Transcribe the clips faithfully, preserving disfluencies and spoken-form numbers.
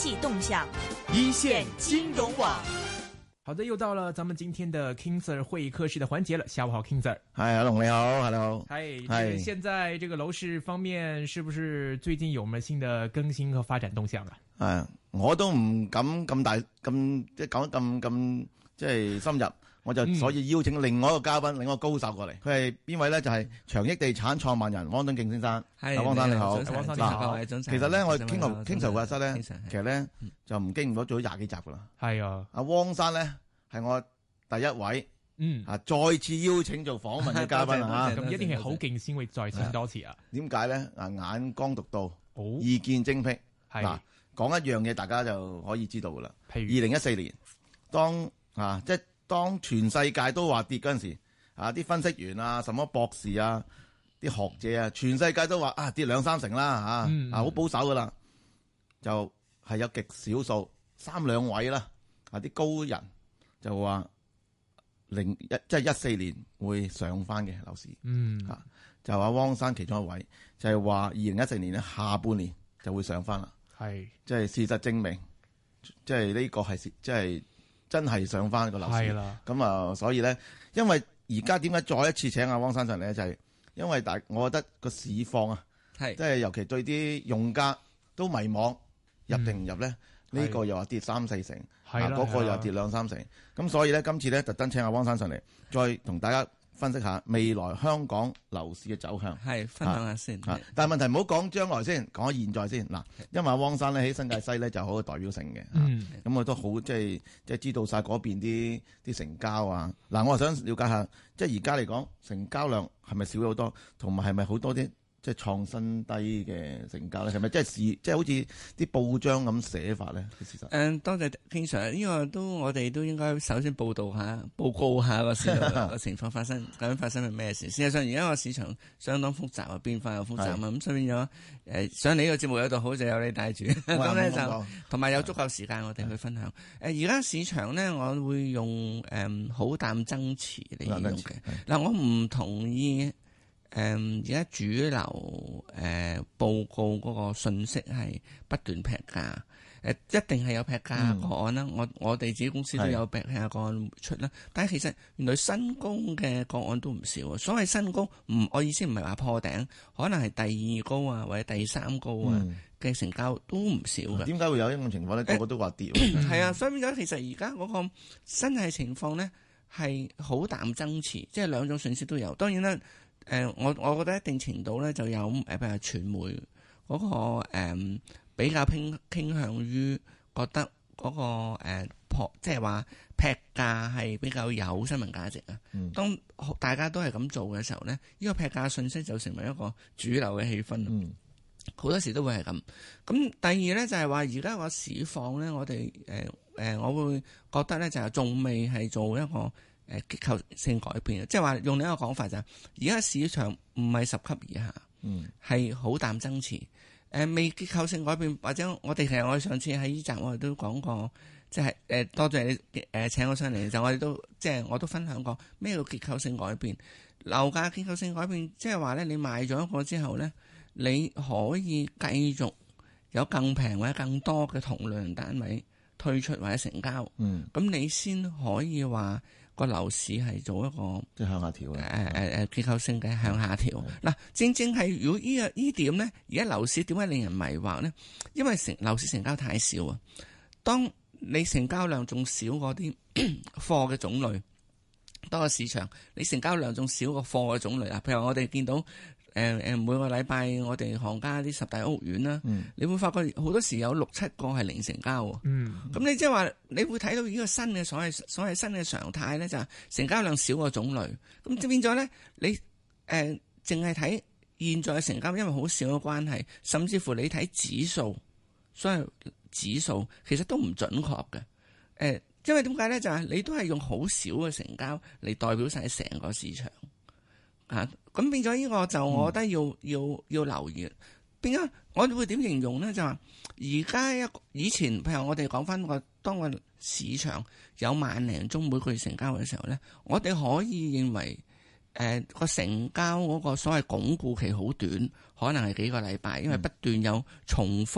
际動向， 一線金融網。 好的，又到了咱們今天的 King Sir 會客室的環節了。下午好 ，King Sir。 係阿龍你好，你好。 係，係。現在這個樓市方面，是不是最近有什麼新的更新和發展動向啊？ 係，我都唔敢咁大咁即係講得咁咁即係深入，我就所以邀請另外一個嘉賓，另外一個高手過嚟。佢係邊位咧？就係長益地產創辦人汪敦敬先生。係，汪生你好。 汪生你好。 其實咧，我傾頭傾頭會客室咧，其實咧就唔經唔到做咗廿幾集噶啦。係啊。阿汪生咧係我第一位，嗯啊，再次邀請做訪問嘅嘉賓啊， 咁一定係好勁先會再請多次啊。 點解咧？啊，眼光獨到，意見精闢。嗱，講一樣嘢，大家就可以知道噶啦。譬如二零一四年，當啊，即係當全世界都話跌嗰陣時，啊，啲分析員啊，什麼博士啊，啲學者啊，全世界都話啊，跌兩三成啦，啊，啊，好保守噶啦，就係有極少數三兩位啦，啊，啲高人。就話零一即係一四年會上翻嘅樓市，嗯嚇，就話汪生其中一位，就係話二零一四年咧下半年就會上翻啦，係即係事實證明，即係呢個係即係真係上翻個樓市，係啦。咁啊，所以咧，因為而家點解再一次請阿汪生上嚟咧，就係、是、因為大，我覺得個市況啊，係即係尤其對啲用家都迷惘，入定唔入咧？嗯呢個又話跌三四成，嗰、啊那個又跌兩三成，咁所以咧今次咧特登請阿汪生上嚟，再同大家分析下未來香港樓市嘅走向。係分享下先。啊、但係問題唔好講將來先，講現在先。嗱，因為阿汪生咧喺新界西咧就好有代表性嘅，咁、嗯啊、我都好即係即係知道晒嗰邊啲啲成交啊。嗱，我係想了解下，即係而家嚟講成交量係咪少咗好多，同埋係咪好多啲？即係創新低嘅成交咧，係咪即係市即係好似啲報章咁寫法咧？事實誒，多謝經常呢個都我哋都應該首先報道下、報告下個市場個情況發生究竟發生係咩事。事實上，而家個市場相當複雜啊，變化又複雜啊，咁所以變咗誒上你呢個節目有度好就有你帶住，咁咧就同埋有足夠時間我哋去分享。誒而家市場咧，我會用誒好淡爭持嚟形容嘅。嗱，我唔同意。誒而家主流誒、呃、報告嗰個信息係不斷劈價，誒、呃、一定係有劈價個案啦、嗯。我我哋自己公司都有劈價個案出啦。但係其實原來新高嘅個案都唔少。所謂新高，唔我意思唔係話破頂，可能係第二高啊，或者第三高啊嘅成交都唔少嘅。點、嗯、解會有呢種情況咧？個個都話跌。係啊，所以變咗其實而家嗰個真係情況咧係好淡爭持，即係兩種信息都有。當然啦。誒、呃，我我覺得一定程度咧就有誒，譬如傳媒嗰、那個誒、呃、比較偏傾向於覺得嗰、那個誒破、呃，即係話劈價係比較有新聞價值啊、嗯。當大家都係咁做嘅時候咧，呢、這個劈價信息就成為一個主流嘅氣氛。好、嗯、多時都會係咁。咁第二咧就係話，而家個市況咧，我哋誒誒，我會覺得咧就係仲未係做一個。誒結構性改變，即係話用另一個講法就係，而家市場唔係十級以下，係、嗯、好淡爭持。誒、呃、未結構性改變，或者我哋其實我哋上次喺呢集我哋都講過，即係誒多謝你誒、呃、請我上嚟，就我哋都即係我都分享過咩叫結構性改變。樓價結構性改變，即係話咧，你買咗一個之後咧，你可以繼續有更平或者更多嘅同量單位推出或者成交，咁、嗯、你先可以話。個樓市係做一個即係向下調嘅， 誒誒誒結構性嘅向下調。嗱，正正係如果呢個呢點咧，而家樓市點解令人迷惑咧？因為成樓市成交太少啊。當你成交量仲少過啲貨嘅種類，多個市場你成交量仲少過貨嘅種類啊。譬如我哋見到。誒誒，每個禮拜我哋行家啲十大屋苑啦、嗯，你會發覺好多時有六七個係零成交喎。咁、嗯、你即係話，你會睇到呢個新嘅所謂所謂新嘅常態咧，就係成交量少個種類。咁即變咗咧，你誒淨係睇現在嘅成交，因為好少嘅關係，甚至乎你睇指數，所謂指數其實都唔準確嘅。誒、呃，因為點解咧？就係、是、你都係用好少嘅成交嚟代表晒成個市場。啊，咁變咗呢個就我覺得要、嗯、要要留意。變咗我會點形容咧？就話而家一以前譬如我哋講翻個當個市場有萬零宗每個月成交嘅時候咧，我哋可以認為誒個、呃、成交嗰個所謂鞏固期好短，可能係幾個禮拜，因為不斷有重複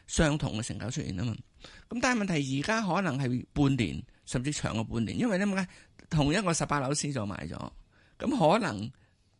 相同嘅成交出現啊嘛。咁但係問題而家可能係半年甚至長過半年，因為點解同一個十八樓 C 座賣咗，咁可能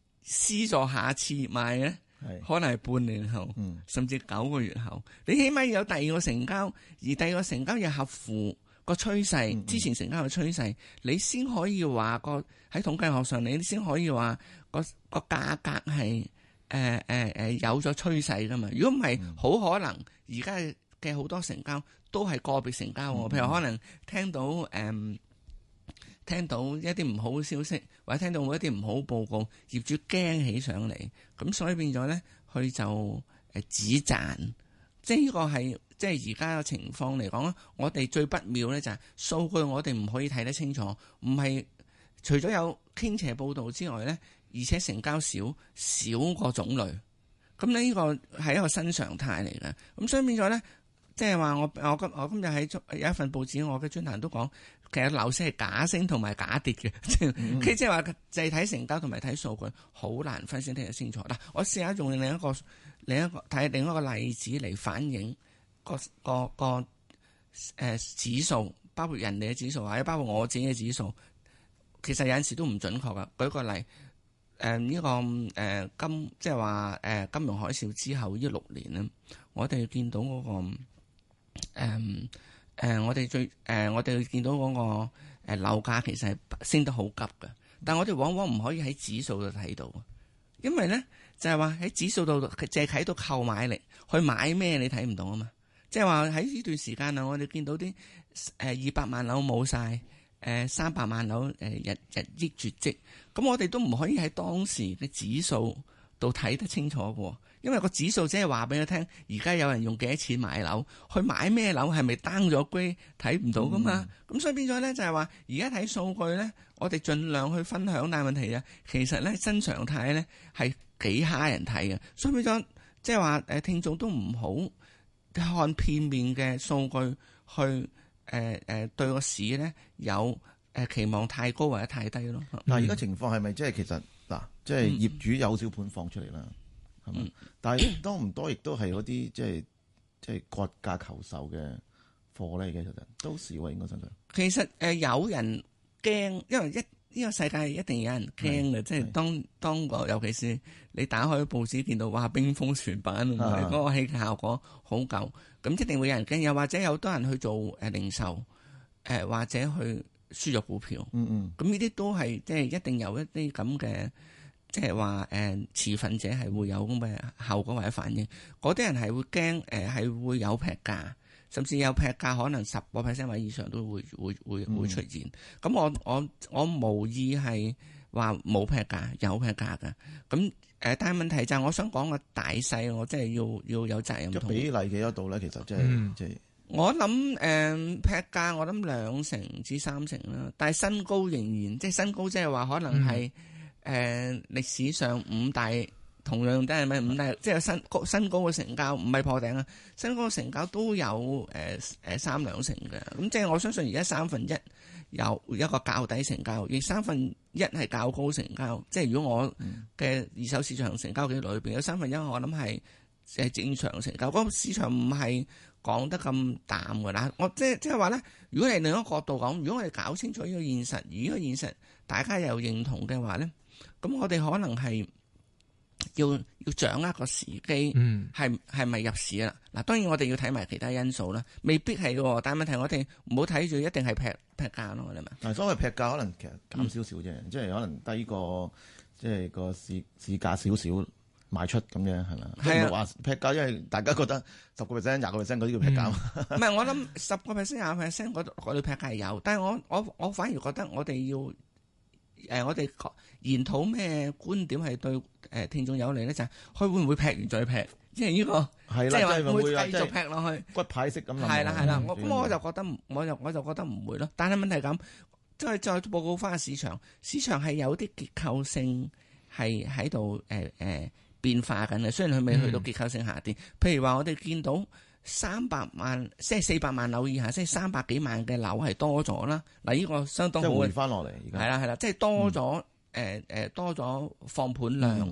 C 座下次賣咧，可能係半年後，嗯、甚至九個月後，你起碼有第二個成交，而第二個成交又合乎個趨勢，嗯嗯之前成交嘅趨勢，你先可以話個喺統計學上，你先可以話個個價格係誒誒誒有咗趨勢噶嘛。如果唔係，好、嗯、可能而家嘅好多成交都係個別成交，嗯、譬如可能聽到誒、嗯、聽到一啲唔好嘅消息，或者聽到一啲唔好報告，業主驚起上嚟，咁所以變咗咧，佢就誒止賺，即係呢個係。即係而家嘅情況嚟講，我哋最不妙咧就係數據我哋唔可以睇得清楚，唔係除咗有傾斜報導之外咧，而且成交少少個種類，咁呢個係一個新常態嚟嘅。咁所以變咗咧，即係話我我今我今日喺有一份報紙，我嘅專欄都講，其實樓市係假升同埋假跌嘅，嗯、即係話就係睇成交同埋睇數據，好難分析睇得清楚。嗱，我試下用另一個另一個睇另一個例子嚟反映。個個個誒、呃、指數，包括人哋嘅指數，或者包括我自己嘅指數，其實有陣時都唔準確噶。舉個例，誒、呃、呢、這個誒、呃、金，即係話誒金融海嘯之後呢六年咧，我哋見到嗰、那個誒誒、呃呃，我哋最誒、呃、我哋見到嗰個誒樓價其實係升得好急嘅，但係我哋往往唔可以喺指數度睇到，因為咧就係話喺指數度淨係睇到購買力，去買咩你睇唔到啊嘛。即係話喺呢段時間啊，我哋見到啲誒二百萬樓冇晒，誒三百萬樓誒日日益絕跡，咁我哋都唔可以喺當時嘅指數度睇得清楚嘅，因為個指數即係話俾佢聽，而家有人用幾多錢買樓，去買咩樓係咪 down 咗 grade 睇唔到噶嘛，咁、嗯、所以變咗咧就係話而家睇數據咧，我哋盡量去分享，但係問題啊，其實咧新常態咧係幾蝦人睇嘅，所以變咗即係話誒聽眾都唔好看片面嘅數據去誒誒、呃呃、對個市咧有誒期望太高或者太低咯。 嗱，而家情況係咪即係其實嗱，即係業主有小盤放出嚟啦，係嘛？但係多唔多亦都係嗰啲即係即係割價求售嘅貨咧？其實都少喎，應該相對。 其實誒、呃、有人驚，因為一呢、這個世界一定有人驚嘅，即係當當個尤其是你打開報紙見到哇冰封全版，嗰、啊、個戲劇效果好夠，咁一定會有人驚。又或者有多人去做誒零售，誒、呃、或者去輸入股票，嗯嗯，咁呢啲都係即係一定有一啲咁嘅，即係話誒持份者係會有咁嘅效果或者反應。嗰啲人係會驚，誒、呃、係會有劈價。甚至有劈價，可能十個 percent 或以上都會會會會出現。咁、嗯、我我我無意係話冇劈價，有劈價㗎。咁誒、呃，但係問題就係我想講個大細，我真係要要有責任。 比例幾多度咧？其實即係即係我諗誒、呃、劈價，我諗兩成至三成啦。但係新高仍然即係新高，即係話可能係誒、嗯呃、歷史上五大。同樣都係咪五大，即係新高新高嘅成交，唔係破頂啊！新高嘅成交都有誒誒、呃、三兩成嘅，咁即係我相信而家三分一有一個較低成交，而三分一係較高成交。即係如果我嘅二手市場成交記錄裏邊有三分一，我諗係誒正常成交。嗰、那個市場唔係講得咁淡㗎啦。我即係即係話咧，如果係另一個角度講，如果我哋搞清楚呢個現實，而呢個現實大家又認同嘅話咧，咁我哋可能係。要要掌握個時機，係係咪入市啦？嗱，當然我哋要睇埋其他因素啦，未必係嘅。但係問題我哋唔好睇住一定係劈劈價咯，係咪？ 嗱，所謂劈價可能其實減少少啫，嗯、即係可能低過即係個市市價少少賣出咁樣係咪？係啊，話劈價，因為大家覺得十個 percent、廿個 percent 嗰啲叫劈價。唔係、嗯，我諗十個 percent、廿個 percent 嗰嗰啲劈價係有，但係我我我反而覺得我哋要。誒、呃，我哋研討咩觀點係對誒聽眾有利咧？就係、是、佢會唔會劈完再劈？即係呢個係啦，即係話會繼續劈落去骨牌式咁。 係啦係啦，我咁我就覺得，我就我就覺得唔會咯。但係問題咁，即係再報告翻個市場，市場係有啲結構性係喺度誒誒變化緊嘅。雖然佢未去到結構性下跌，嗯、譬如話我哋見到。三百萬即係四百萬樓以下，即係三百幾萬嘅樓係多咗啦。嗱，呢個相當好。即係回翻落嚟，而家係啦係啦，即係多咗誒誒多咗放盤量，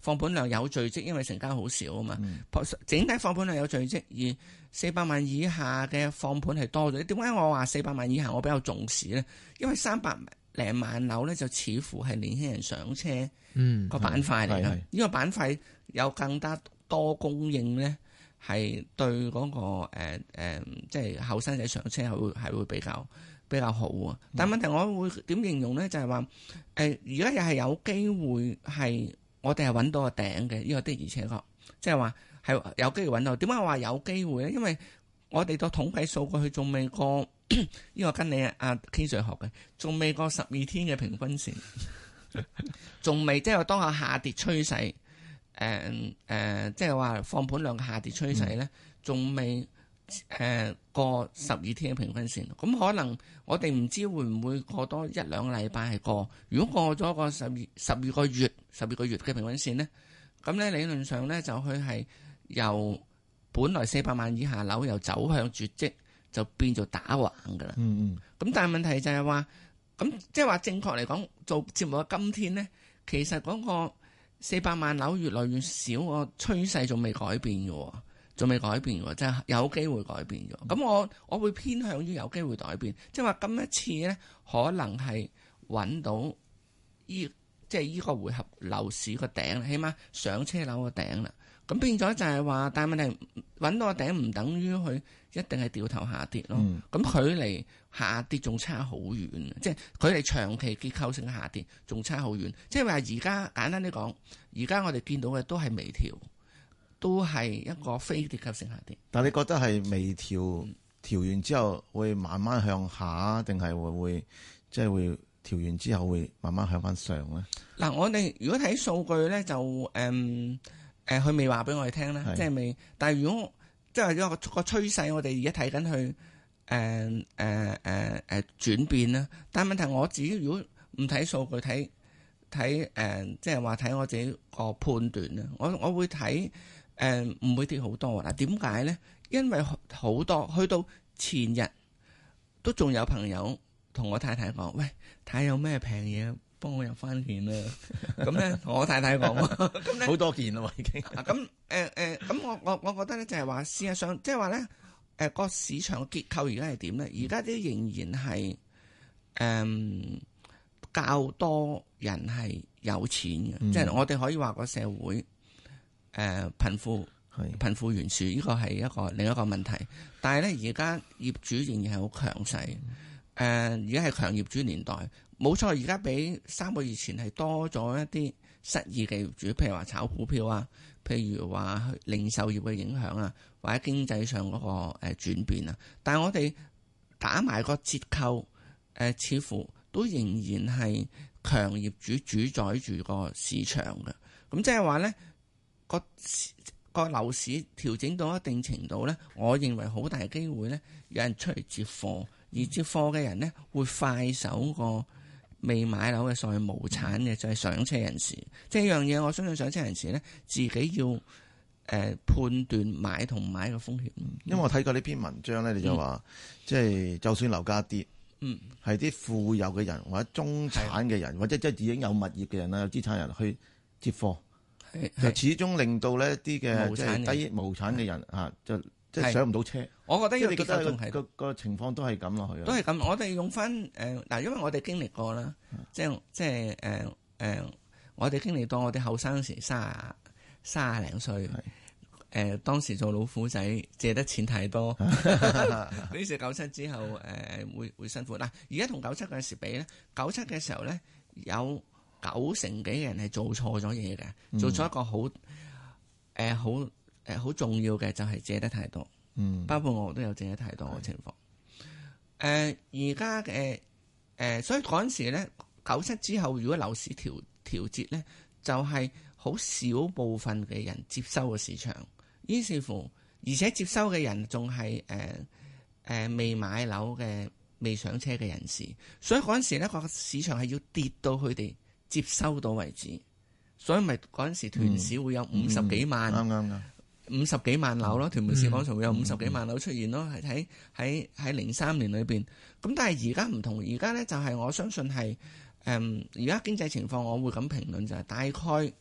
放盤量有聚積，因為成交好少啊嘛。 嗯、 整體放盤量有聚積，而四百萬以下嘅放盤係多咗。點解我話四百萬以下我比較重視咧？因為三百零萬樓咧就似乎係年輕人上車個板塊嚟嘅。呢、嗯、個板塊有更加多供應咧，係對嗰、那個誒誒、呃呃，即係後生仔上車係會係會比較比較好啊。但係問題我會點形容咧？就係話誒，而家又係有機會係我哋係揾到個頂嘅，呢、這個的而且確，即係話係有機會揾到。點解我話有機會咧？因為我哋個統計數據佢仲未過呢個跟你阿 K Sir 學嘅，仲未過十二天嘅平均線，仲未即係當下下跌趨勢，誒誒，即係話放盤量嘅下跌趨勢咧，仲未誒過十二天嘅平均線。咁可能我哋唔知會唔會過多一兩個禮拜係過。如果過咗個十二十二個月十二個月嘅平均線咧，咁咧理論上咧就佢係由本來四百萬以下樓又走向絕跡，就變做打橫噶啦。嗯嗯。咁但係問題就係話，咁即係話正確嚟講，做節目嘅今天咧，其實嗰個四百萬樓越來越少，個趨勢仲未改變嘅，仲未改變嘅，即係有機會改變咗。咁我我會偏向於有機會改變，即係話今一次咧，可能係揾到依即係依個回合樓市個頂，起碼上車樓個頂啦。咁變咗就係話，但係問題揾到個頂唔等於佢一定係掉頭下跌咯。咁、嗯、距離下跌仲差好遠，即係距離長期結構性下跌仲差好遠。即係話而家簡單啲講，而家我哋見到嘅都係微調，都係一個非結構性下跌。 但係你覺得係微調調完之後會慢慢向下，定係會會即係會調完之後會慢慢向翻上咧？ 嗱，我哋如果睇數據咧，就誒。嗯誒，佢未話俾我哋聽啦，即係未。但係如果即係一個個趨勢，我哋而家睇緊佢誒誒誒誒轉變啦。但係問題我自己如果唔睇數據，睇睇誒，即係話睇我自己個判斷啦。我我會睇誒唔會跌好多。嗱，點解咧？因為好多去到前日都仲有朋友同我太太講，喂，睇下有咩平嘢，幫我入翻件啦。咁咧，我太太講，咁咧好多件啦，已經。 咁誒誒，咁我我我覺得咧，就係話事實上，即係話咧，誒個市場結構而家係點咧？而家都仍然係誒較多人係有錢嘅，即係、嗯、我哋可以話個社會誒貧富係貧富懸殊，呢個係一個另一個問題。但係咧，而家業主仍然係好強勢，誒而家係強業主年代。冇錯，而家比三個月前係多咗一啲失意嘅業主，譬如話炒股票啊，譬如話零售業嘅影響啊，或者經濟上嗰個誒轉變啊。但係我哋打埋個折扣，誒、呃、似乎都仍然係強業主主宰住個市場嘅。咁即係話咧，個個樓市調整到一定程度咧，我認為好大機會咧，有人出嚟接貨，而接貨嘅人咧會快手個未買樓嘅所謂無產嘅就係、是、上車人士，即係一樣嘢。我相信上車人士咧自己要誒、呃、判斷買同買嘅風險。 因為我睇過呢篇文章咧，你就話、嗯、即係就算樓價跌，嗯，係啲富有嘅人或者中產嘅人，或者即係已經有物業嘅人啦，有資產人去接貨，就始終令到呢啲嘅即係低無產嘅人啊就。即係上唔到車， 我覺得呢個結構仲係個個情況都係咁落去。 都係咁，我哋用翻誒嗱，因為我哋經歷過啦，即係即係誒誒，我哋經歷到我哋後生時卅卅零歲，誒、呃、當時做老虎仔借得錢太多，於是九七之後誒、呃、會會辛苦。嗱，而家同九七嗰陣時比咧，九七嘅時候咧有九成幾嘅人係做錯咗嘢嘅，做錯一個好誒好。呃誒，好重要嘅就係借得太多，嗯，包括我都有借得太多嘅情況。誒、呃，而家嘅誒，所以嗰陣時咧，九七之後，如果樓市調調節咧，就係、是、好少部分嘅人接收嘅市場，於是乎，而且接收嘅人仲係誒誒未買樓嘅未上車嘅人士，所以嗰陣時咧個市場係要跌到佢哋接收到為止，所以咪嗰陣時屯市會有五十幾萬，啱啱啱。五十幾萬樓咯，屯門市廣場會有五十幾萬樓出現咯，係喺喺喺零三年裏邊。咁但係而家唔同，而家咧就係我相信係誒，而家經濟情況我會咁評論就係大概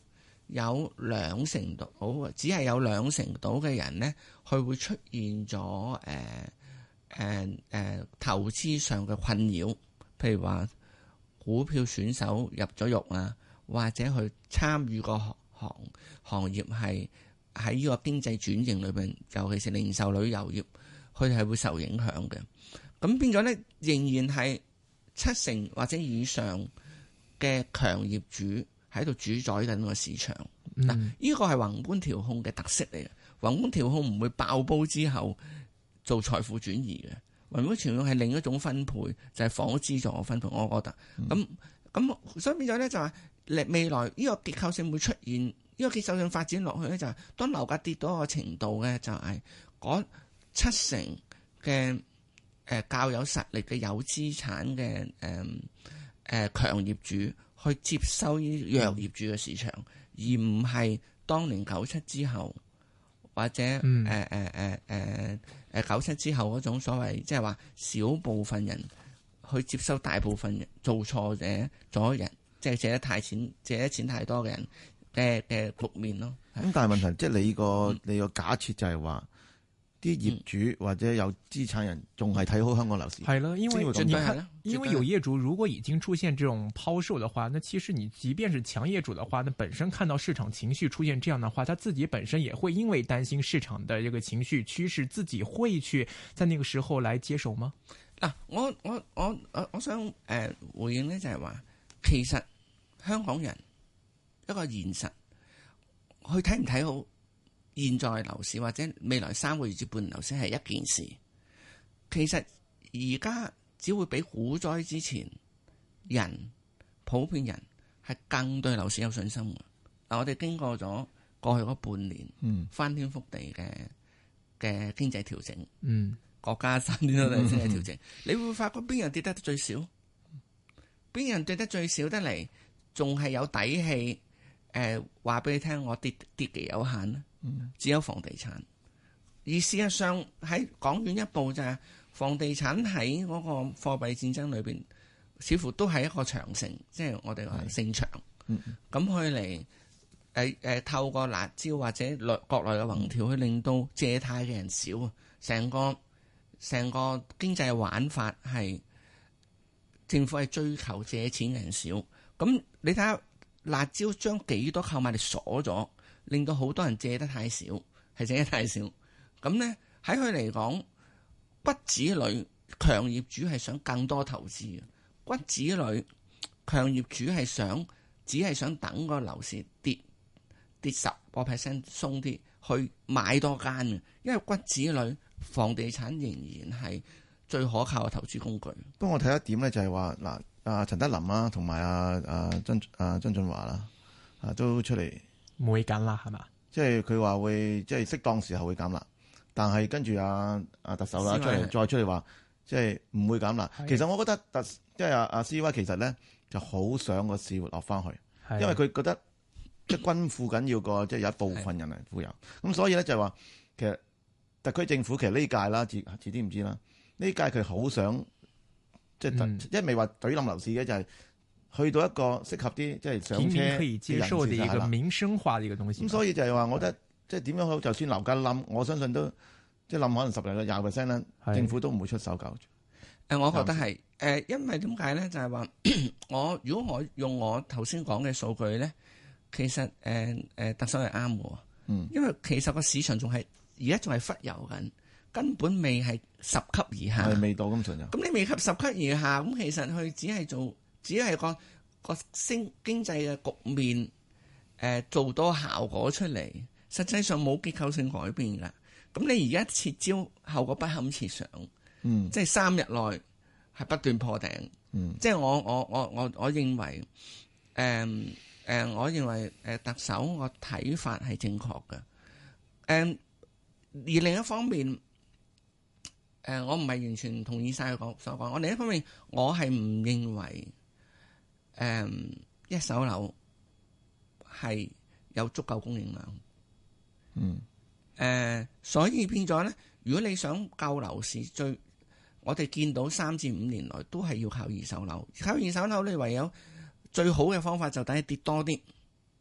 有兩成度，只係有兩成度嘅人咧，佢會出現咗誒誒誒投資上嘅困擾，譬如話股票選手入咗獄啊，或者佢參與個行行業係喺呢個經濟轉型裏邊，尤其是零售旅遊業，佢哋係會受影響嘅。咁變咗咧，仍然係七成或者以上嘅強業主喺度主宰緊個市場。嗱、嗯，呢個係宏觀調控嘅特色嚟嘅。宏觀調控唔會爆煲之後做財富轉移嘅。宏觀調控係另一種分配，就係、是、房屋資助嘅分配。我覺得咁咁，嗯、所以變咗咧就係未來呢個結構性會出現，呢、這個結構性發展落去咧就係、是、當樓價跌到一個程度咧，就係嗰七成嘅。誒較有實力嘅有資產嘅誒誒強業主去接收呢弱業主嘅市場，嗯、而唔係當年九七之後或者誒誒誒誒誒九七之後嗰種所謂即係話少部分人去接收大部分人做錯者咗人，即係借得太錢借得錢太多嘅人嘅嘅局面咯。 咁但係問題即係你個、嗯、你個假設就係話。啲業主或者有資產人仲係睇好香港樓市， 係咯，因為你看，因為有業主如果已經出現這種拋售的話，那其實你即便是強業主的話，那本身看到市場情緒出現這樣的話，他自己本身也會因為擔心市場的這個情緒趨勢，自己會去在那個時候來接手嗎？ 嗱，我我我我我想誒、呃、回應呢就係話，其實香港人一個現實，去睇唔睇好現在樓市或者未來三個月至半年樓市係一件事，其實而家只會比股災之前人普遍人係更對樓市有信心嘅。嗱，我哋經過咗過去嗰半年，嗯，翻天覆地嘅嘅經濟調整，嗯，國家翻天覆地經濟調整，嗯、你會發覺邊樣跌得最少，邊樣跌得最少得嚟，仲係有底氣。誒，話俾你聽，我跌跌極有限咧。只有房地產，而事實上喺講遠一步就係房地產喺嗰個貨幣戰爭裏邊，似乎都係一個長城，即係我哋話勝場。咁去嚟誒誒，透過辣招或者內國內嘅宏調，去令到借貸嘅人少啊，成個成個經濟玩法係政府係追求借錢嘅人少。咁你睇下辣招將幾多購買力鎖咗。令到好多人借得太少，係借得太少。咁咧喺佢嚟講，骨子裏強業主係想更多投資嘅。骨子裏強業主係想，只係想等個樓市跌跌十個 percent 鬆啲，去買多間嘅。因為骨子裏房地產仍然係最可靠嘅投資工具。 不過我睇一點咧，就係話嗱，阿陳德霖啦，同埋阿阿曾阿曾俊華啦，啊都出嚟。 唔會減辣係嘛？ 即係佢話會，即係適當時候會減辣，但係跟住阿阿特首啦出嚟再出嚟話，即係唔會減辣。其實我覺得特即係阿阿 C Y 其實咧就好想個市活落翻去，因為佢覺得即係均富緊要過即係有一部分人係富有。咁所以咧就係話，其實特區政府其實呢屆啦，遲遲啲唔知啦，呢屆佢好想即係、嗯、一未話懟冧樓市嘅就係、是。去到一個適合啲即係上車平民可以接受嘅一個民生化嘅一個東西。 咁所以就係話，我覺得即係點樣好，就算樓價冧，我相信都即係冧可能十零個廿 percent 啦，政府都唔會出手救。誒、 呃，我覺得係誒、呃，因為點解咧？就係、是、話我如果我用我頭先講嘅數據咧，其實誒誒、呃呃、特首係啱嘅。嗯，因為其實個市場仲係而家仲係忽悠緊，根本未係十級以下， 係未到咁盡。 咁你未及十級以下，咁其實佢只係做。只係個個經經濟嘅局面，誒、呃、做多效果出嚟，實際上冇結構性改變㗎。咁你而家撤招，後果不堪設想。嗯，即係三日內係不斷破頂。嗯，即係我我我我我認為，誒、呃、誒、呃，我認為誒特首我睇法係正確嘅。誒、呃，而另一方面。誒、呃，我唔係完全同意晒佢所講。我另一方面，我係唔認為。誒、嗯，一手樓係有足夠供應量，嗯，誒、呃，所以變咗咧，如果你想救樓市，最我哋見到三至五年來都係要靠二手樓，靠二手樓你唯有最好嘅方法就等佢跌多啲，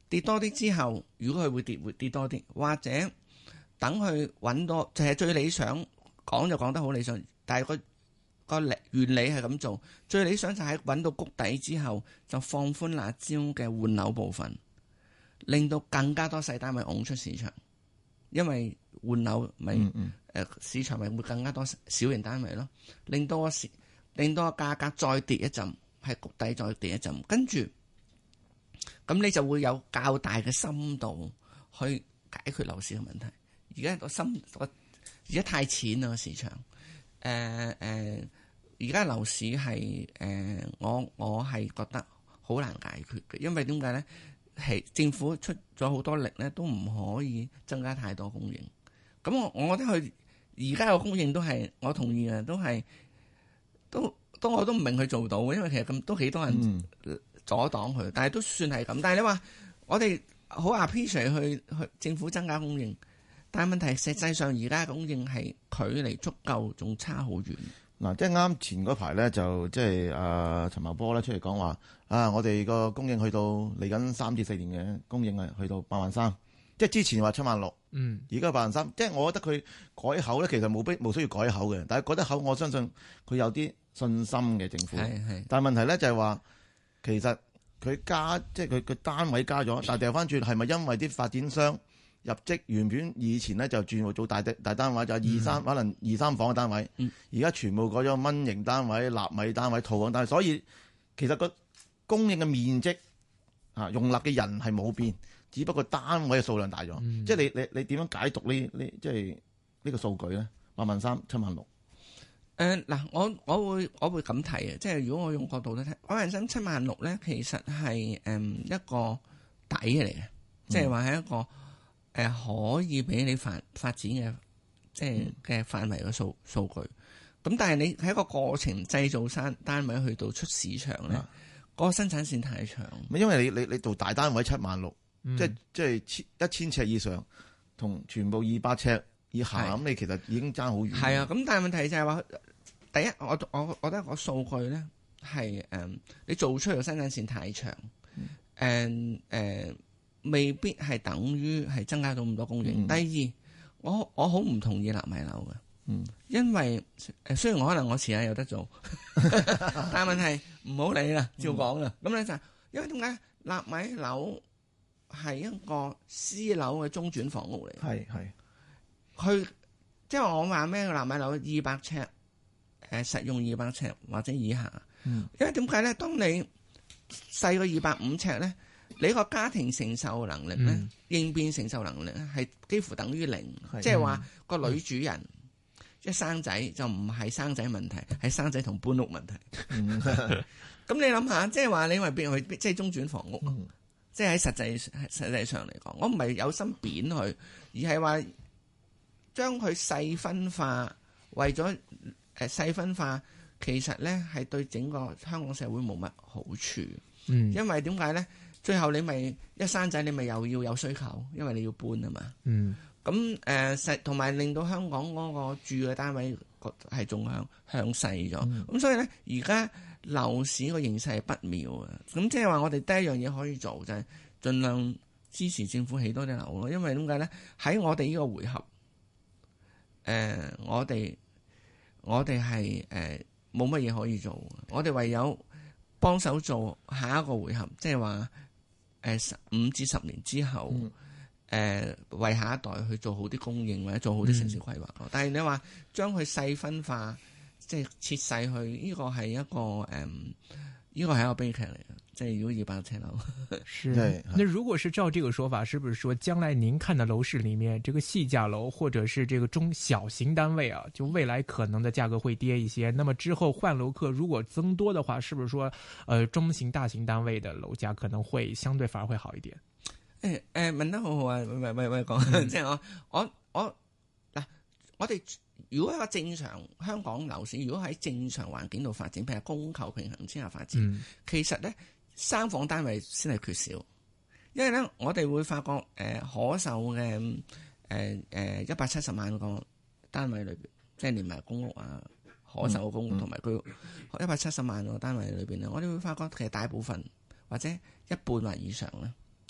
跌多啲之後，如果佢會跌，會跌多啲，或者等佢揾多，就係最理想講就講得好理想，但係個個原理係咁做，最理想就係揾到谷底之後就放寬辣招嘅換樓部分，令到更加多細單位拱出市場，因為換樓咪誒市場咪會更加多小型單位咯，令到個市令到個價格再跌一陣，係谷底再跌一陣，跟住咁你就會有較大嘅深度去解決樓市嘅問題。而家個深個而家太淺啦個市場，誒誒而家樓市係誒、呃、我我係覺得好難解決嘅，因為點解咧？係政府出咗好多力咧，都唔可以增加太多供應。咁我我覺得佢而家嘅供應都係我同意嘅，都係都都我都唔明佢做到嘅，因為其實咁都幾多人阻擋佢，嗯、但係都算係咁。但係你話我哋好 appreciate 去去政府增加供應，但係問題實際上而家供應係距離足夠仲差好遠。 嗱，即係啱前嗰排咧，就即係阿陳茂波咧出嚟講話啊，我哋個供應去到嚟緊三至四年嘅供應係去到八萬三，即係之前話七萬六，嗯，而家八萬三，即係我覺得佢改口咧，其實冇必冇需要改口嘅，但係改得口，我相信佢有啲信心嘅政府，係係，但係問題咧就係話，其實佢加即係佢佢單位加咗，但係掉翻轉係咪因為啲發展商入職原本以前咧就轉做大大單位，就係二三、嗯、可能二三房嘅單位，而家、嗯、全部改咗蚊型單位、納米單位、套房單位，所以其實個供應嘅面積啊，容納嘅人係冇變，只不過單位嘅數量大咗。嗯、即係你你你點樣解讀呢呢即係呢個數據咧？八萬三、七萬六。 誒嗱，我我會我會咁睇嘅，即係如果我用角度咧睇，八萬三、七萬六咧，其實係誒一個底嚟嘅，即係話係一個。嗯誒可以俾你發發展嘅，即係嘅範圍嘅數數據。咁但係你喺一個過程製造單單位去到出市場咧，嗰、啊、個生產線太長。 因為你你你做大單位七萬六，即係即係千一千尺以上，同全部二百尺以下，咁是你其實已經爭好遠。係啊， 咁但係問題就係話，第一我我我覺得個數據咧係誒，你做出嚟嘅生產線太長，誒誒、嗯。呃未必係等於係增加到咁多供應。嗯、第二，我我好唔同意納米樓嘅，嗯、因為誒雖然我可能我遲下有得做，但係問題唔好理啦，照講啦。咁咧、嗯、就係因為點解納米樓係一個私樓嘅中轉房屋嚟？係係，佢即係我話咩？納米樓二百尺，誒實用二百尺或者以下。嗯、因為點解咧？當你細過二百五尺咧？你個家庭承受能力咧，嗯、應變承受能力咧，係幾乎等於零。即係話個女主人一生仔就唔係生仔問題，係生仔同搬屋問題。咁你諗下，即係話你話變去即係中轉房屋，嗯、即係喺實際實際上嚟講，我唔係有心貶佢，而係話將佢細分化，為咗誒細分化，其實咧係對整個香港社會冇乜好處。嗯、因為點解咧？最後你咪一生仔，你咪又要有需求，因為你要搬啊嘛。嗯。咁誒實同埋令到香港嗰個住嘅單位係仲向向細咗。咁、嗯、所以咧，而家樓市個形勢係不妙啊。咁即係話我哋第一樣嘢可以做就係盡量支持政府起多啲樓咯。因為點解咧？喺我哋呢個回合，誒、呃、我哋我哋係誒冇乜嘢可以做。我哋唯有幫手做下一個回合，即係話。誒，五至十年之後，誒、嗯呃、為下一代去做好啲供應或者做好啲城市規劃咯。嗯、但係你話將佢細分化，即係切細去，呢、這個係一個誒，呢、嗯這個係一個悲劇嚟嘅。即係如果二百尺樓， 是。對那如果是照這個說法，是不是說將來您看的樓市裏面，這個細價樓或者是這個中小型單位啊，就未來可能的價格會跌一些？那麼之後換樓客如果增多的話，是不是說，呃，中型、大型單位的樓價可能會相對反而會好一點？ 誒誒、欸，問得好好啊！喂喂喂，講，即係我我我嗱，我哋如果一個正常香港樓市，如果喺正常環境度發展，譬如供求平衡之下發展，嗯、其實咧。三房單位先係缺少，因為咧我哋會發覺誒、呃、可售嘅誒誒一百七十萬個單位裏邊，即係連埋公屋啊，可售嘅公屋同埋居屋一百七十萬個單位裏邊咧，我哋會發覺其實大部分或者一半或以上咧，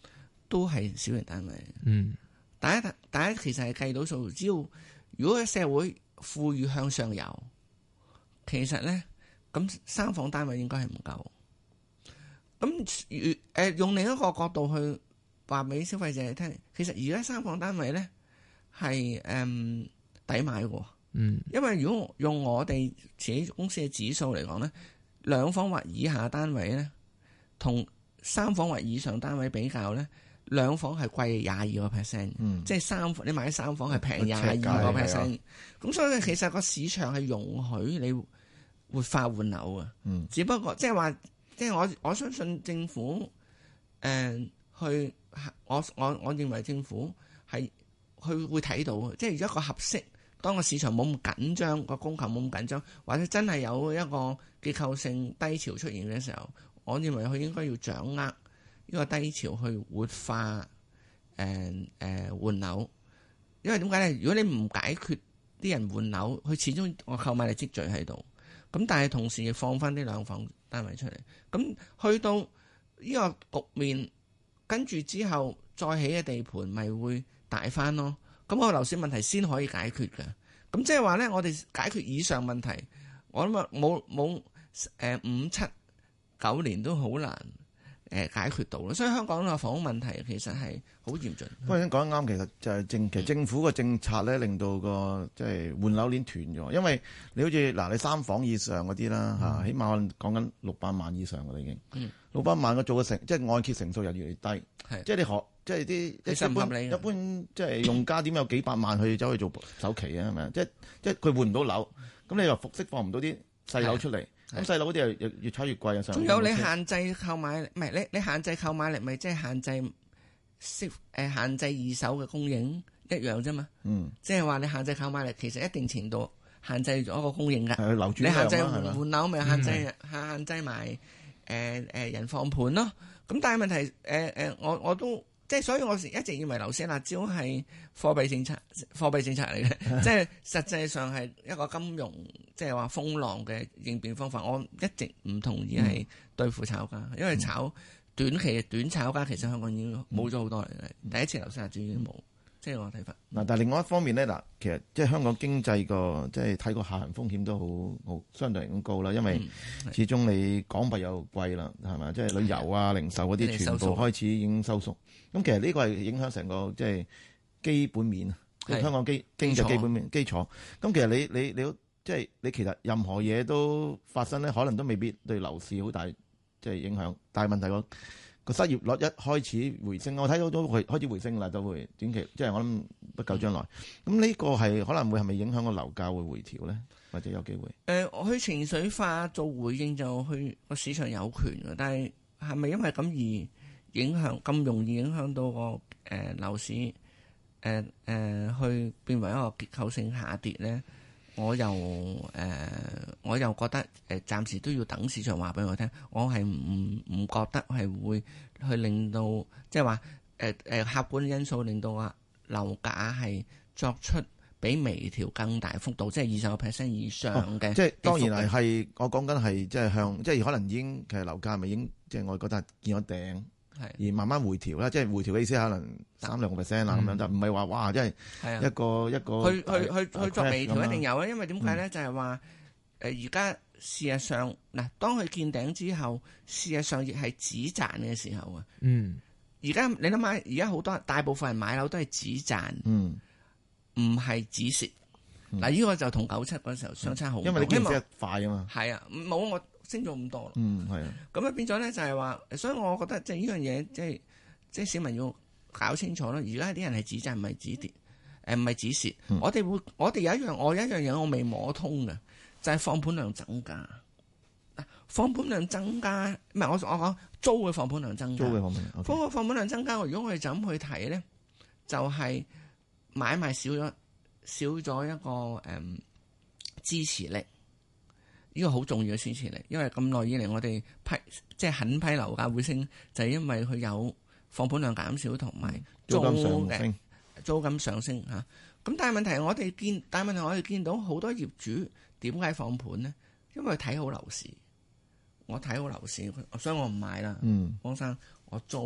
都係小型單位。 嗯， 大家大家其實係計到數，只要如果社會富裕向上游，其實咧咁三房單位應該係唔夠。咁如誒用另一個角度去話俾消費者聽，其實而家三房單位咧係誒抵買嘅。 嗯， 因為如果用我哋自己公司嘅指數嚟講咧，兩房或以下單位咧，同三房或以上單位比較咧，兩房係貴廿二個 percent，即係三房你買三房係平廿二個 percent。咁所以其實個市場係容許你活化換樓啊。嗯，只不過即係話，即係我我相信政府誒、呃、去，我我我認為政府係佢會睇到，即係一個合適。當個市場冇咁緊張，個供求冇咁緊張，或者真係有一個結構性低潮出現嘅時候，我認為佢應該要掌握呢個低潮去活化誒誒換樓。因為點解咧？如果你唔解決啲人換樓，佢始終我購買力積聚喺度。咁但係同時亦放翻啲兩房單位出嚟。咁去到呢個局面，跟住之後再起嘅地盤咪會大翻咯。咁個樓市問題先可以解決嘅，咁即係話咧，我哋解決以上問題，我諗啊冇冇誒五七九年都好難誒解決到咯。所以香港個房屋問題其實係好嚴峻。 不過你講得啱，其實就係政其實政府個政策咧，令到個即係換樓鏈斷咗。因為你好似嗱，你三房以上嗰啲啦嚇，起碼我講緊六百萬以上嘅啦已經，六百萬個做嘅成即係按揭成數又越嚟越低，即係你學。即係啲一般一般即係用家點有幾百萬去走去做首期啊？係咪啊？即係即係佢換唔到樓，咁你又復釋放唔到啲細樓出嚟，咁細樓嗰啲又越越炒越貴啊！ 仲有你限制購買力，唔係你你限制購買力，咪即係限制息誒限制二手嘅供應一樣啫嘛。嗯，即係話你限制購買力，其實一定程度限制咗個供應㗎。係流轉量啊，你限制換換樓咪限制限制埋誒誒人放盤咯。咁但係問題誒誒、呃，我我都。即係所以，我一直認為樓市辣招係貨幣政策，貨幣政策嚟嘅，即係實際上係一個金融，即係話風浪嘅應變方法。我一直唔同意係對付炒家，因為炒短期嘅短炒家其實香港已經冇咗好多嚟嘅。第一次樓市辣招已經冇，即係我睇法。嗱，但係另外一方面咧，嗱，其實即係香港經濟個即係睇個下行風險都好好相對嚟講高啦，因為始終你港幣又貴啦，係咪？即係旅遊啊、零售嗰啲全部開始已經收縮。咁其實呢個係影響成個即係基本面啊，香港基經濟基本面基礎。咁其實你你你即係你其實任何嘢都發生咧，可能都未必對樓市好大即係影響。但係問題個個失業率一開始回升，我睇到都會開始回升啦，都會短期即係我諗不久將來。咁呢個係可能會係咪影響個樓價會回調咧，或者有機會？誒、呃， 我去情緒化做回應就去個市場有權嘅，但係係咪因為咁而影響咁容易影響到個誒、呃、樓市誒誒、呃呃、去變為一個結構性下跌咧？我又誒、呃、我又覺得誒、呃、暫時都要等市場話俾我聽，我係唔唔覺得係會去令到即係話誒誒客觀因素令到啊樓價係作出比微調更大幅度，即係二十個 percent 以上嘅、哦。即係當然係係我講緊係即係向即係可能已經其實樓價係咪已經即係我覺得係見咗頂。而慢慢回調啦，即係回調嘅意思可能三兩個 percent 啦，咁樣就唔係話哇，即係一個、啊、一個去去去去作微調一定有啊，因為點解咧？就係話誒而家事實上嗱，當佢見頂之後，事實上亦係止賺嘅時候啊。嗯，而家你諗下，而家好多大部分人買樓都係止賺，嗯，唔係止蝕。嗱、嗯，呢個就同九七嗰時候相差好多，因為你經濟快啊嘛。係啊，冇我。升咗咁多咯，嗯係啊，咁啊變咗咧就係話，所以我覺得即係呢樣嘢，即係即係市民要搞清楚咯。而家啲人係止賺唔係止跌，誒唔係止蝕。嗯、我哋會，我哋有一樣，我有一樣嘢我未摸通嘅，就係、是、放盤量增加。放盤量增加，唔係我我講租嘅放盤量增加。租嘅放盤量，放放盤量增加。如果我哋就咁去睇咧，就係、是、買賣少咗少咗一個誒、嗯、支持力。呢個好重要嘅支持力，因為咁耐以嚟我哋批即係狠批樓價會升，就係、是、因為佢有放盤量減少同埋租嘅租金上升嚇。咁但係問題我哋見，但係問題我哋見到好多業主點解放盤呢？因為睇好樓市，我睇好樓市，所以我唔買啦。嗯，方生，我租啦。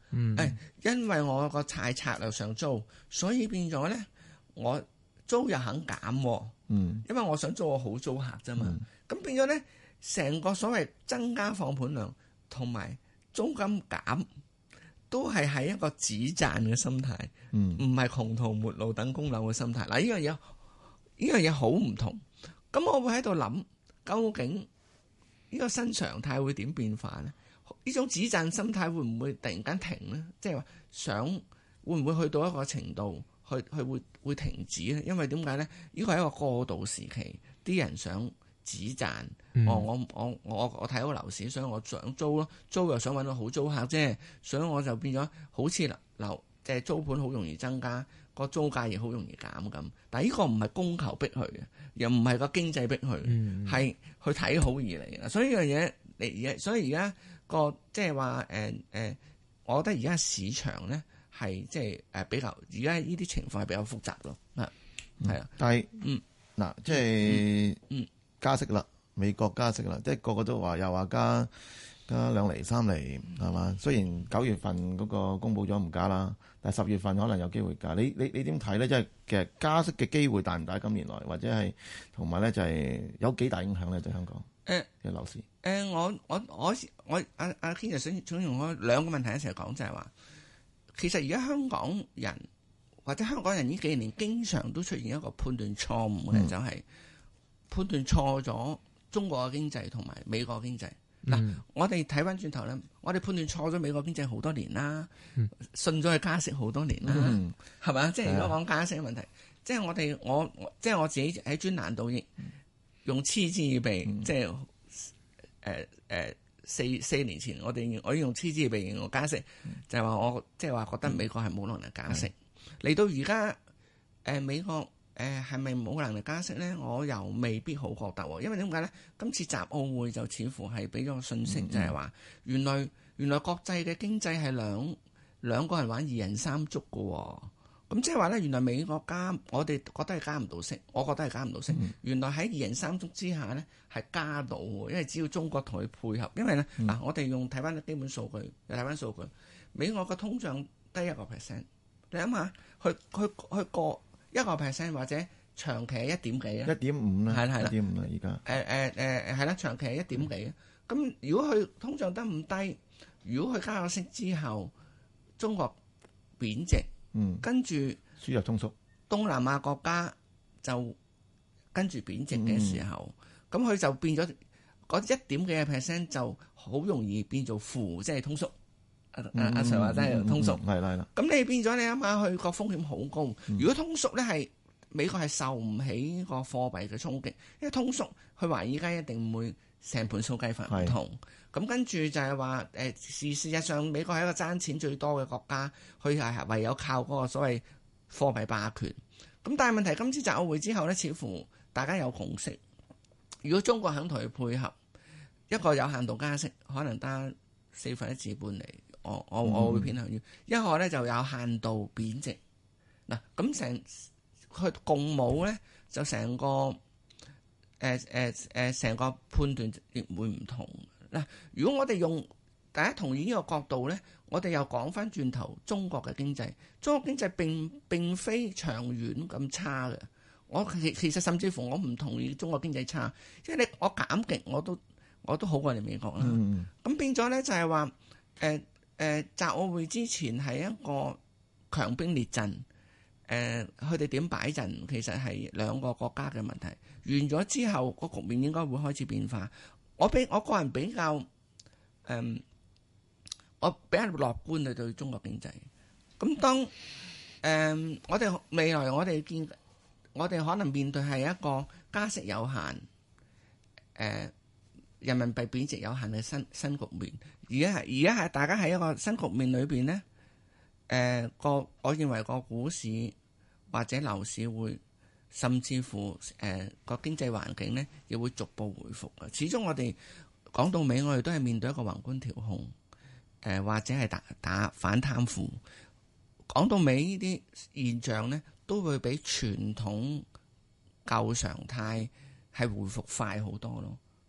嗯，誒，因為我個大策略上租，所以變咗咧，我租又肯減， 嗯， 因為我想租個好租客啫嘛。咁、嗯、變咗咧，成個所謂增加放盤量同埋租金減，都係喺一個止賺嘅心態，唔係窮途末路等供樓嘅心態。嗱，呢樣嘢呢樣嘢好唔同。咁我會喺度諗，究竟呢個新常態會點變化咧？呢種止賺心態會唔會突然間停咧？即係話想會唔會去到一個程度，去去會會停止咧？因為點解咧？呢個係一個過渡時期，啲人想止賺。嗯、我我我我我睇好樓市，所以我想租咯，租又想揾到好租客啫，所以我就變咗好似樓即係租盤好容易增加，個租價亦好容易減咁。但係呢個唔係供求逼佢嘅，又唔係個經濟逼佢，係、嗯、去睇好而嚟嘅。所以呢樣嘢嚟而，所以而家。個即係話誒誒，我覺得而家市場咧係即係誒比較，而家呢啲情況係比較複雜咯，係係、嗯、啊。 但係嗯嗱，即係嗯加息啦，美國加息啦，即係個個都話又話加加兩厘三厘係嘛？雖然九月份嗰個公佈咗唔加啦，但係十月份可能有機會加。你你你點睇咧？即係其實加息嘅機會大唔大？今年來或者係同埋咧就係有幾大影響咧？對香港誒嘅樓市。 誒、呃，我我我我阿阿堅就想想用我兩個問題一齊講，就係、是、話，其實而家香港人或者香港人呢幾年經常都出現一個判斷錯誤嘅，嗯、就係判斷錯咗中國嘅經濟同埋美國嘅經濟。嗱、嗯，我哋睇翻轉頭咧，我哋判斷錯咗美國經濟好多年啦，嗯、信咗佢加息好多年啦，係咪、嗯？即係如果講加息嘅問題，即係我哋我即係我自己喺專欄度亦用嗤之以鼻，嗯、即係。誒誒、呃，四四年前我哋我用嗤之以鼻形容加息，嗯、就係話我即係話覺得美國係冇能力加息。嚟、嗯、到而家誒美國誒係咪冇能力加息咧？我又未必好覺得，因為點解咧？今次集奧會就似乎係俾咗個信息，嗯、就係話原來原來國際嘅經濟係兩兩個人玩二人三足㗎。咁即係話咧，原來美國加，我哋覺得係加唔到息，我覺得係加唔到息。嗯、原來喺二人三足之下咧，係加到喎，因為只要中國同佢配合。因為咧，嗱、嗯，我哋用睇翻啲基本數據，又睇翻數據，美國嘅通脹低一個 percent，你諗下，去去去過一個 percent 或者長期係一點幾啊？一點五啦，係啦係啦，一點五啦而家。誒誒誒係啦，長期係一點幾啊？咁、嗯、如果佢通脹得咁低，如果佢加咗息之後，中國貶值。嗯，跟住輸入通縮，東南亞國家就跟住貶值嘅時候，咁佢、嗯、就變咗嗰一點幾嘅 percent 就好容易變做負，即係通縮。阿阿阿 Sir 話齋通縮，係啦係啦。咁、嗯嗯、你變咗你諗下，佢個風險好高。嗯、如果通縮咧係美國係受唔起個貨幣嘅衝擊，因為通縮佢話而家一定唔會成盤數計法唔同。咁跟住就係話，誒事事實上美國係一個爭錢最多嘅國家，佢係唯有靠嗰個所謂貨幣霸權。咁但係問題，今次集奧會之後咧，似乎大家有共識。如果中國肯同佢配合，一個有限度加息，可能得四分一至半釐，我我我會偏向於、嗯、一個咧就有限度貶值。嗱，咁成佢共舞咧，就成個誒誒誒成個判斷亦會唔同。嗱，如果我哋用大家同意呢個角度咧，我哋又講翻轉頭中國嘅經濟，中國經濟並並非長遠咁差嘅。我其其實甚至乎我唔同意中國經濟差，即係你我減極我都我都好過你美國啦。咁、嗯、變咗咧就係話誒誒集奧會之前係一個強兵列陣，誒佢哋點擺陣其實係兩個國家嘅問題。完咗之後個局面應該會開始變化。我比我個人比較，誒、嗯，我比較樂觀地對中國經濟。咁當誒、嗯，我哋未來我哋見，我哋可能面對係一個加息有限，誒、呃，人民幣貶值有限嘅新新局面。而家係而家係大家喺一個新局面裏邊咧，誒、呃、個，我認為個股市或者樓市會。甚至乎誒個、呃、經濟環境咧，亦會逐步回復嘅。始終我哋講到尾，我哋都係面對一個宏觀調控，誒、呃、或者係打打反貪腐。講到尾呢啲現象咧，都會比傳統舊常態係回復快好多咯。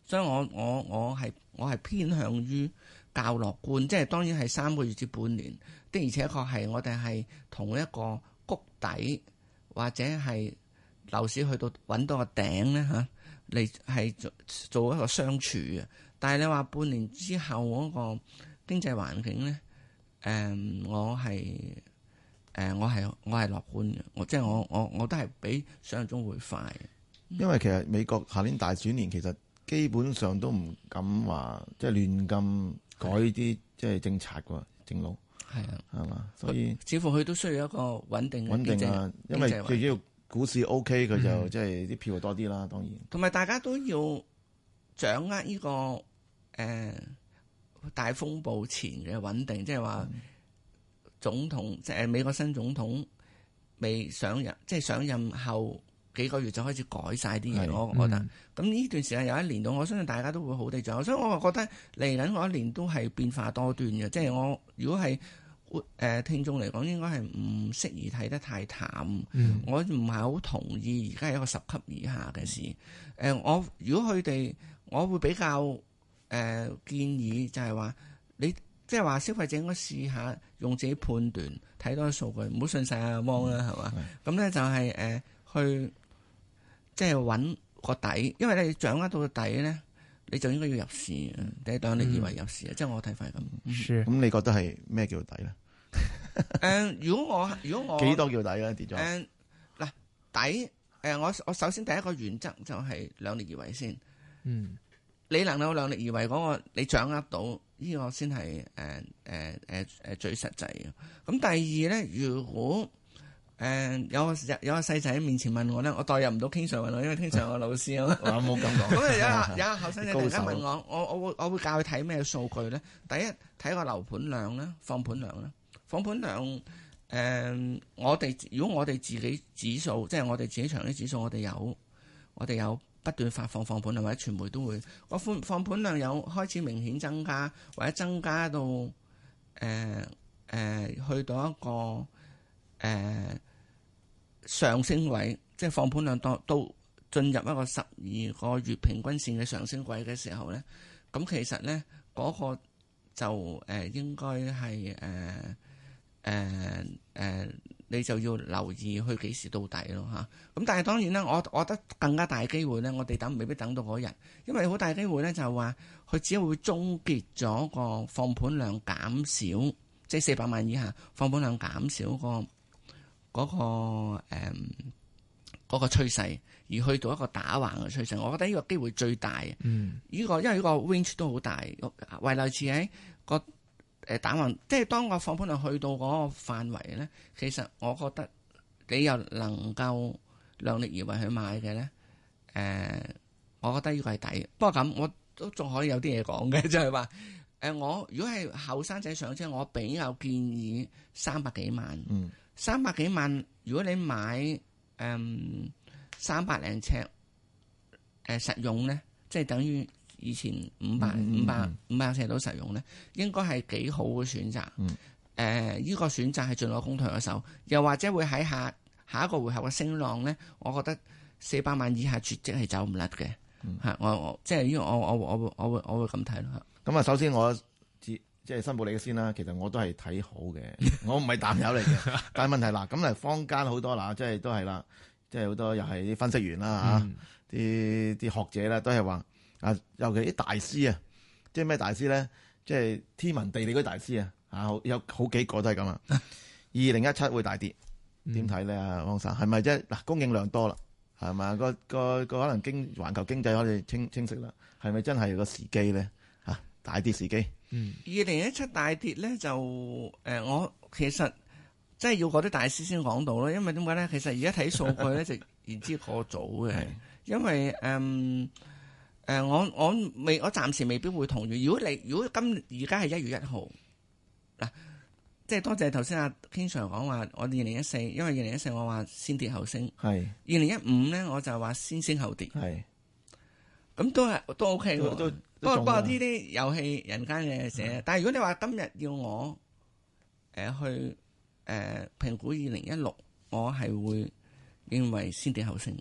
所以我我我係我係偏向於較樂觀，即係當然係三個月至半年的，而且確係我哋係同一個谷底或者係樓市去到揾到個頂咧嚇，嚟係做做一個相處嘅。但係你話半年之後嗰個經濟環境咧，誒、嗯、我係誒、呃、我係我係樂觀嘅，我即係我我我都係比想象中會快。 因為其實美國下年大選年其實基本上都唔敢話即係亂咁改啲即係政策喎，正路係啊， 係嘛，所以似乎佢都需要一個穩定嘅穩定啊，因為最主要股市 OK，佢就即係啲票多啲啦，當然。 同埋大家都要掌握呢、這個誒、呃、大風暴前嘅穩定，即係話總統即係、就是、美國新總統未上任，即、就、係、是、上任後幾個月就開始改晒啲嘢，我覺得。咁呢、嗯、段時間有一年到，我相信大家都會好地掌握，所以我覺得嚟緊嗰一年都係變化多端嘅。即係我如果係誒、呃、聽眾嚟講，應該係唔適宜睇得太淡。嗯、我唔係好同意而家係一個十級以下嘅事。誒、呃，我如果佢哋，我會比較誒、呃、建議就係話，你即係話消費者應該試下用自己判斷，睇多啲數據，唔好信晒阿汪啦，係嘛？咁咧就係、是、誒、呃、去。即係揾個底，因為你掌握到個底咧，你就應該要入市嘅。第一檔你以為入市啊，即係、嗯、我睇法係咁。 咁、嗯、你覺得係咩叫底咧？ 誒、呃，如果我如果我幾多叫底咧？跌咗。 誒，嗱底誒、呃，我我首先第一個原則就係量力而為先。嗯，你能夠量力而為嗰、那個，你掌握到呢、這個先係誒誒誒誒最實際嘅。咁第二咧，如果誒、呃、有個有個細仔喺面前問我咧，我代入唔到King Sir問我，因為King Sir係我老師啊嘛。我冇咁講。咁啊有有個後生仔突然間問我，我我會我會教佢睇咩數據咧？第一睇個樓盤量啦，放盤量啦，放盤量誒、呃，我哋如果我哋自己指數，即係我哋自己場啲指數，我哋有我哋有不斷發放放盤量，或者傳媒都會個放放盤量有開始明顯增加，或者增加到誒誒、呃呃、去到一個誒。呃上升位，即係放盤量到到進入一個十二個月平均線嘅上升軌嘅時候咧，咁其實咧嗰、那個就誒、呃、應該係誒誒誒，你就要留意去幾時到底咯嚇。咁但係當然啦，我我覺得更加大機會咧，我哋等未必等到嗰日，因為好大機會咧就係話佢只會終結咗個放盤量減少，即係四百萬以下放盤量減少個。嗰、那個誒嗰、嗯那個趨勢，而去到一個打橫嘅趨勢，我覺得呢個機會最大。嗯，呢、這個因為呢個 range 都好大，為類似喺個誒打橫，即係當個放盤量去到嗰個範圍咧，其實我覺得你又能夠量力而為去買嘅咧，誒、呃，我覺得呢個係抵。不過咁，我都仲可以有啲嘢講嘅，就係話誒，我如果係後生仔上車，我比較建議三百幾萬。嗯。三百幾萬，如果你買誒、嗯、三百零尺誒、呃、實用咧，即係等於以前五百五百五百尺到實用咧，應該係幾好嘅選擇。誒、嗯，依、呃這個選擇係盡我公退嘅手，又或者會喺下下一個回合嘅升浪咧，我覺得四百萬以下絕跡係走唔甩嘅。嚇、嗯，我我即係呢個我我我會我會我會咁睇咯。 咁啊，首先我即係申報你嘅先啦，其實我都係睇好嘅，我唔係淡友嚟嘅。但係問題嗱，咁嚟坊間好多嗱，即係都係啦，即係好多又係啲分析員啦嚇，啲啲、嗯、學者啦，都係話啊，尤其啲大師啊，即係咩大師咧？即係天文地理嗰啲大師啊，嚇有好幾個都係咁啊。二零一七會大跌，點睇咧？啊，汪生係咪即係嗱供應量多啦？係咪個個個可能經環球經濟可以清清晰啦？係咪真係個時機咧？嚇大跌時機？ 嗯，二零一七大跌咧就誒、呃，我其實即係要嗰啲大師先講到咯，因為點解咧？其實而家睇數據咧就言之過早嘅，因為誒誒、呃呃，我我未我暫時未必會同意。如果你如果今而家係一月一號嗱，即係多謝頭先阿 King Sir 講話，我哋二零一四，因為二零一四我話先跌後升，係二零一五咧我就話先升後跌，係咁都係都 OK 嘅。都不過不過呢啲遊戲人間嘅事，嗯、但係如果你話今日要我誒、呃、去誒、呃、評估二零一六，我係會認為先跌後升，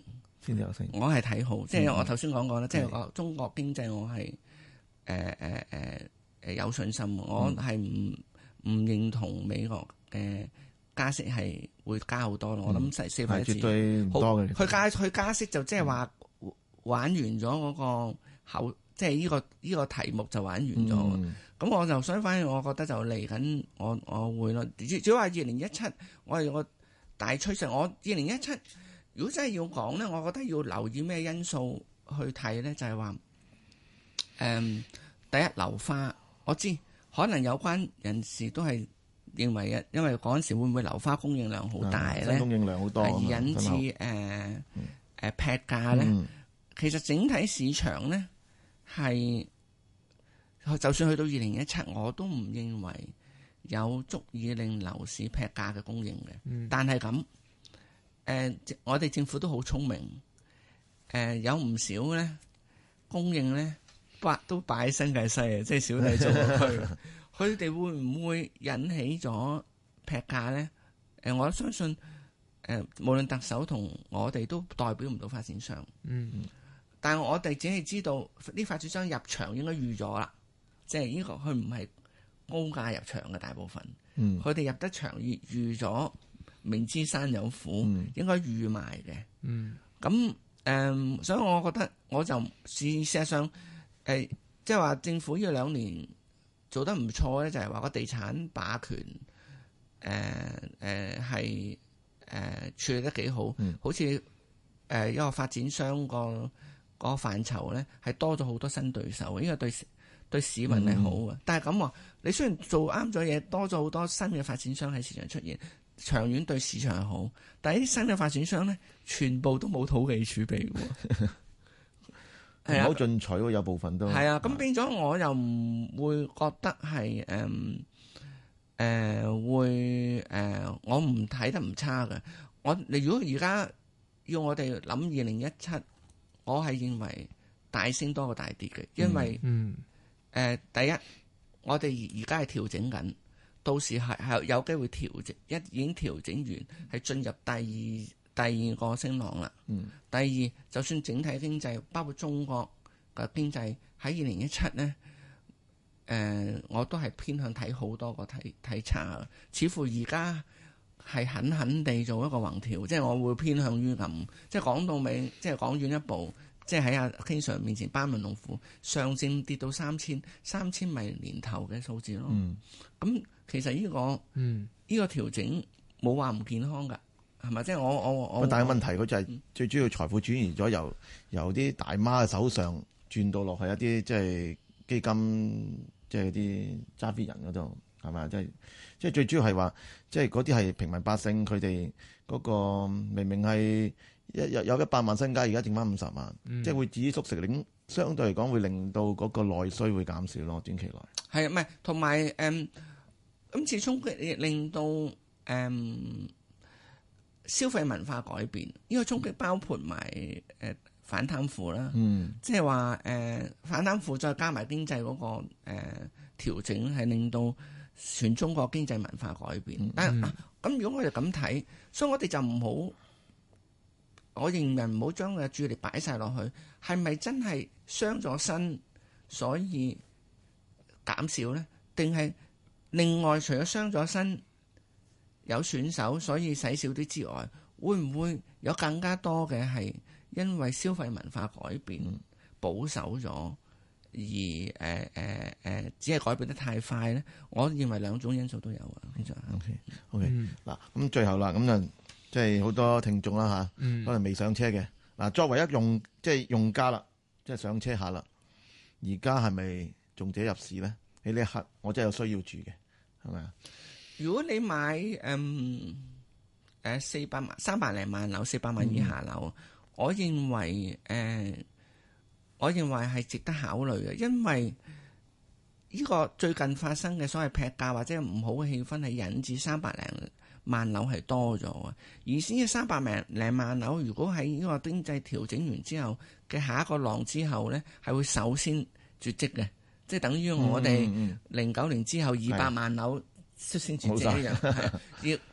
先至有升。 我係睇好，即係我頭先講過啦，即係我中國經濟我係誒誒誒誒有信心，我係唔唔認同美國嘅加息係會加好多咯。我諗四四分一次， 絕對唔多嘅。 佢加佢加息就即係話玩完咗嗰個口，即係呢個呢個題目就玩完咗。咁、嗯、我就相反，我覺得就嚟緊，我我會咯。主要話二零一七，我係個大趨勢。我二零一七如果真係要講咧，我覺得要留意咩因素去睇咧，就係話誒第一樓花，我知可能有關人士都係認為嘅，因為嗰陣時會唔會樓花供應量好大咧？ 供應量好多， 係引致誒誒劈價咧。嗯、其實整體市場咧係，就算去到二零一七，我都唔認為有足以令樓市劈價嘅供應嘅。嗯、但係咁誒，我哋政府都好聰明，誒、呃、有唔少咧供應咧，擺都擺喺新界西啊，即係小弟做區。佢哋會唔會引起咗劈價咧？誒、呃，我相信誒、呃，無論特首同我哋都代表唔到發展商。嗯，但係我哋只係知道啲發展商入場應該預咗啦，即係呢個佢唔係高價入場嘅大部分。嗯，佢哋入得場預預咗，明知山有虎，嗯、應該預埋嘅。嗯，咁誒、呃，所以我覺得我就事實上誒、呃，即係話政府呢兩年做得唔錯咧，就係話個地產霸權，誒誒係誒處理得幾好，嗯、好似誒、呃、一個發展商個個範疇咧，係多咗好多新對手，呢個對對市民係好嘅。嗯、但係咁話，你雖然做啱咗嘢，多咗好多新嘅發展商喺市場出現，長遠對市場係好，但係啲新嘅發展商咧，全部都冇土地儲備喎。係好進取喎，有部分都係啊，咁變咗我又唔會覺得係誒誒會誒、呃，我唔睇得唔差嘅。我你如果而家要我哋諗二零一七，我係認為大升多過大跌嘅，因為嗯誒、呃、第一，我哋而家係調整緊，到時係係有機會調整，一已經調整完，係進入第二。第二個升浪啦，嗯、第二就算整體經濟，包括中國嘅經濟喺二零一七咧，誒、呃、我都係偏向睇好多過睇睇差，似乎而家係狠狠地做一個橫調，即係我會偏向於咁，即係講到尾，即係講遠一步，即係喺阿 King Sir 面前班門弄斧，上證跌到三千，三千咪年頭嘅數字咯。咁、嗯、其實呢、呢個呢、嗯、個調整冇話唔健康㗎。係咪？即係我我我。但係問題佢就係最主要財富轉移咗由由啲大媽嘅手上轉到落去一啲即係基金，即係啲揸 fit 人嗰度，係咪？即係即係最主要係話，即係嗰啲係平民百姓，佢哋嗰個明明係一有有一百萬身家，而家剩翻五十萬，嗯、即係會止縮食，令相對嚟講會令到嗰個內需會減少咯，短期內。係啊，唔係同埋誒，今次衝擊令到誒。嗯消費文化改變，呢、這個衝擊包括埋誒、呃、反貪腐啦，嗯、即係話誒反貪腐再加埋經濟嗰、那個誒、呃、調整，係令到全中國經濟文化改變。嗯、但係咁、啊、如果我哋咁睇，所以我哋就唔好，我認為唔好將個注意力擺晒落去，係咪真係傷咗身，所以減少咧？定係另外除咗傷咗身？有損手，所以使少啲之外，會唔會有更加多嘅係因為消費文化改變、嗯、保守咗，而誒誒誒只係改變得太快咧？我認為兩種因素都有啊。其實 OK OK 嗱，咁最後啦，咁就即係好多聽眾啦嚇，嗯、可能未上車嘅嗱，作為一用即係、就是、用家啦，即、就、係、是、上車下啦，而家係咪重者入市咧？喺呢一刻，我真係有需要住嘅，係咪啊？如果你買誒誒四百萬三百零萬樓四百萬以下樓，嗯、我認為誒、呃，我認為係值得考慮嘅，因為呢個最近發生嘅所謂劈價或者唔好嘅氣氛係引致三百零萬樓係多咗嘅，而先嘅三百零零萬樓，如果喺呢個經濟調整完之後嘅下一個浪之後咧，係會首先絕跡嘅，即係等於我哋零九年之後二百萬樓。率先絕跡一樣，係要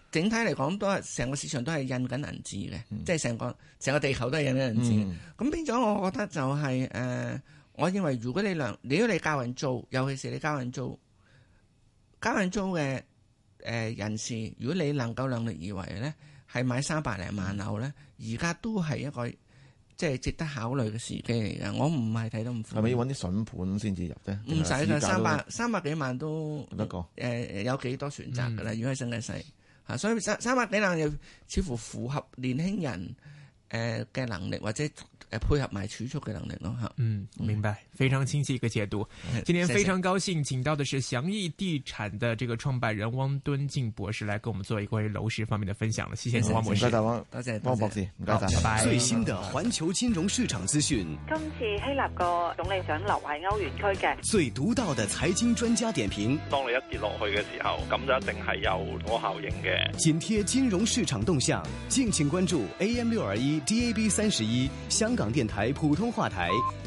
整體嚟講都係成個市場都係印緊銀紙嘅， 嗯、 即係成個成個地球都係印緊銀紙。咁、嗯、變咗，我覺得就係、是、誒、呃，我認為如果你量，如果你教人租，尤其是你教人租，教人租嘅誒人士，如果你能夠量力而為咧，係買三百零萬樓咧，而家都係一個即係值得考慮嘅時機嚟嘅。我唔係睇到咁苦。 係咪要揾啲筍盤先至入啫？ 唔使㗎，三百三百幾萬都得個誒有幾多選擇㗎啦？嗯、如果係新界西嚇，所以三三百幾萬又似乎符合年輕人誒嘅能力或者。誒，配合埋儲蓄嘅能力咯吓。 嗯，明白，非常清晰一個解讀。嗯、今天非常高興請到的是祥益地產的這個創辦人汪敦敬博士來跟我們做一個關於樓市方面的分享了。謝謝你，汪博士。 唔該晒汪， 多謝汪博士，唔該晒，拜拜。 最新的環球金融市場資訊。 今次希臘個總理想留喺歐元區嘅。 最獨到的財經專家點評。 當你一跌落去嘅時候，咁就一定係有嗰個效應嘅。 緊貼金融市場動向，敬請關注 A M 六二一 D A B 三十一香港電台普通話台。